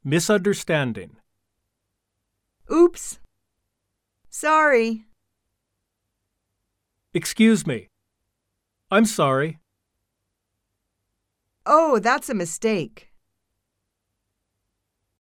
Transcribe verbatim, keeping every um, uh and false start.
Misunderstanding. Oops. Sorry. Excuse me. I'm sorry. Oh, that's a mistake.